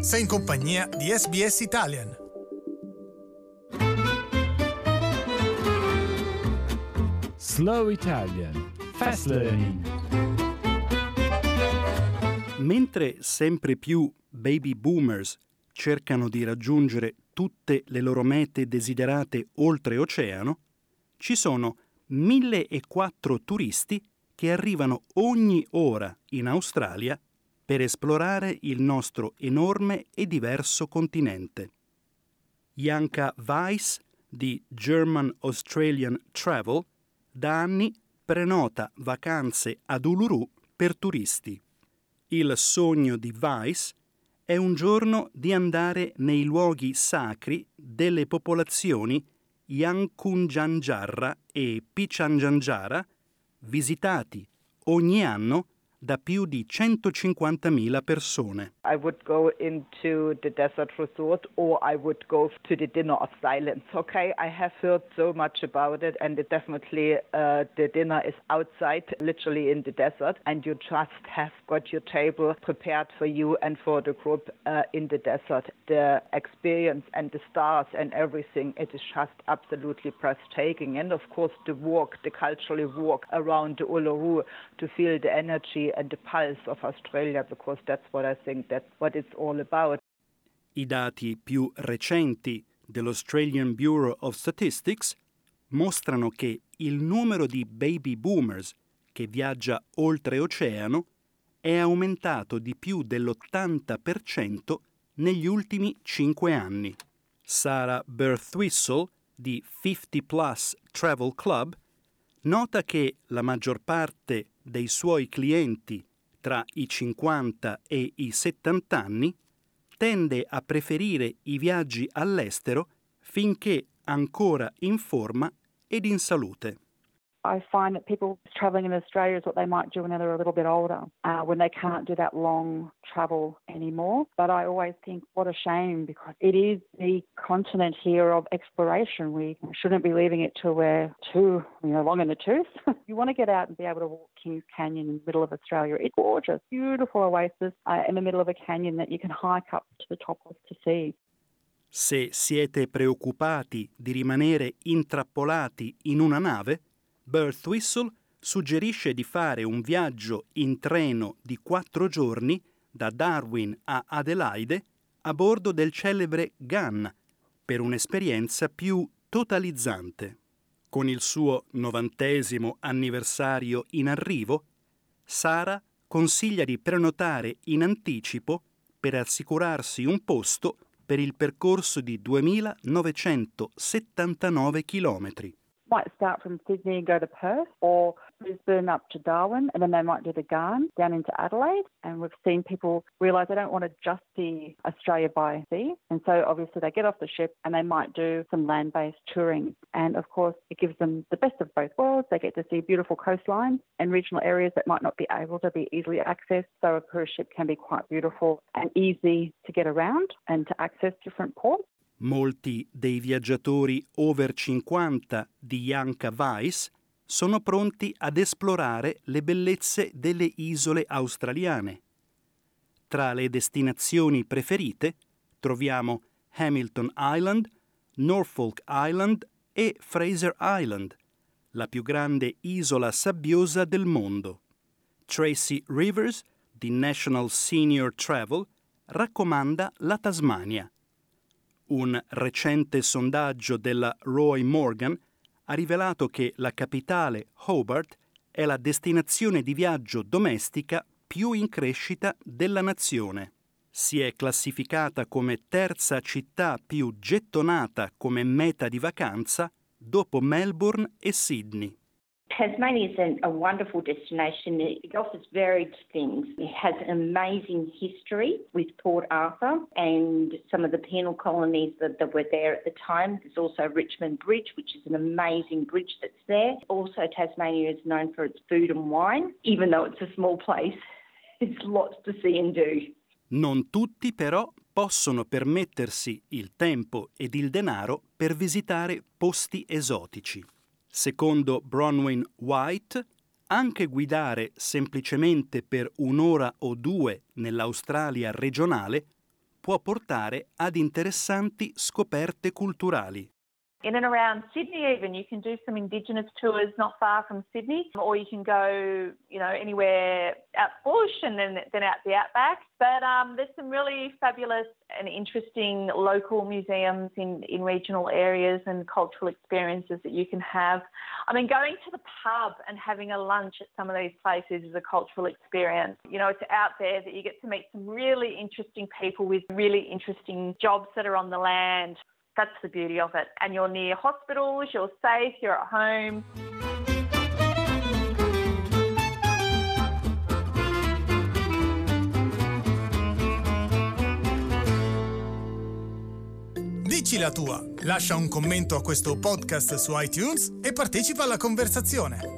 Sei in compagnia di SBS Italian. Slow Italian Fast Learning. Mentre sempre più baby boomers cercano di raggiungere tutte le loro mete desiderate oltreoceano, ci sono 1.004 turisti che arrivano ogni ora in Australia per esplorare il nostro enorme e diverso continente. Janka Weiss di German Australian Travel da anni prenota vacanze ad Uluru per turisti. Il sogno di Weiss è un giorno di andare nei luoghi sacri delle popolazioni Yankunytjatjara e Pitjantjatjara, visitati ogni anno da più di 150.000 persone. I would go into the desert resort or I would go to the dinner of silence. Okay, I have heard so much about it, and it definitely the dinner is outside, literally in the desert, and you just have got your table prepared for you and for the group in the desert. The experience and the stars and everything, it is just absolutely breathtaking. And of course the walk, the cultural walk around the Uluru to feel the energy and the pulse of Australia, because that's what I think, that's what it's all about. I dati più recenti dell'Australian Bureau of Statistics mostrano che il numero di baby boomers che viaggia oltreoceano è aumentato di più dell'80% negli ultimi 5 anni. Sarah Birthwhistle di 50 Plus Travel Club nota che la maggior parte dei suoi clienti tra i 50 e i 70 anni tende a preferire i viaggi all'estero finché ancora in forma ed in salute. I find that people travelling in Australia is what they might do when they're a little bit older, when they can't do that long travel anymore. But I always think, what a shame, because it is the continent here of exploration. We shouldn't be leaving it till we're too, long in the tooth. You want to get out and be able to walk Kings Canyon in the middle of Australia. It's gorgeous, beautiful oasis in the middle of a canyon that you can hike up to the top of to see. Se siete preoccupati di rimanere intrappolati in una nave, Birthwhistle suggerisce di fare un viaggio in treno di 4 giorni da Darwin a Adelaide a bordo del celebre Gun per un'esperienza più totalizzante. Con il suo 90° anniversario in arrivo, Sara consiglia di prenotare in anticipo per assicurarsi un posto per il percorso di 2.979 chilometri. Might start from Sydney and go to Perth, or Brisbane up to Darwin, and then they might do the Gun down into Adelaide. And we've seen people realise they don't want to just see Australia by sea, and so obviously they get off the ship and they might do some land-based touring. And of course it gives them the best of both worlds. They get to see beautiful coastlines and regional areas that might not be able to be easily accessed, so a cruise ship can be quite beautiful and easy to get around and to access different ports. Molti dei viaggiatori over 50 di Janka Weiss sono pronti ad esplorare le bellezze delle isole australiane. Tra le destinazioni preferite troviamo Hamilton Island, Norfolk Island e Fraser Island, la più grande isola sabbiosa del mondo. Tracy Rivers, di National Senior Travel, raccomanda la Tasmania. Un recente sondaggio della Roy Morgan ha rivelato che la capitale Hobart è la destinazione di viaggio domestica più in crescita della nazione. Si è classificata come terza città più gettonata come meta di vacanza dopo Melbourne e Sydney. Tasmania is a wonderful destination. It offers varied things. It has an amazing history with Port Arthur and some of the penal colonies that were there at the time. There's also Richmond Bridge, which is an amazing bridge that's there. Also, Tasmania is known for its food and wine. Even though it's a small place, there's lots to see and do. Non tutti, però, possono permettersi il tempo ed il denaro per visitare posti esotici. Secondo Bronwyn White, anche guidare semplicemente per un'ora o due nell'Australia regionale può portare ad interessanti scoperte culturali. In and around Sydney even, you can do some Indigenous tours not far from Sydney, or you can go, anywhere out bush and then out the outback. But there's some really fabulous and interesting local museums in regional areas and cultural experiences that you can have. I mean, going to the pub and having a lunch at some of these places is a cultural experience. It's out there that you get to meet some really interesting people with really interesting jobs that are on the land. That's the beauty of it. And you're near hospitals, you're safe, you're at home. Dici la tua, lascia un commento a questo podcast su iTunes e partecipa alla conversazione.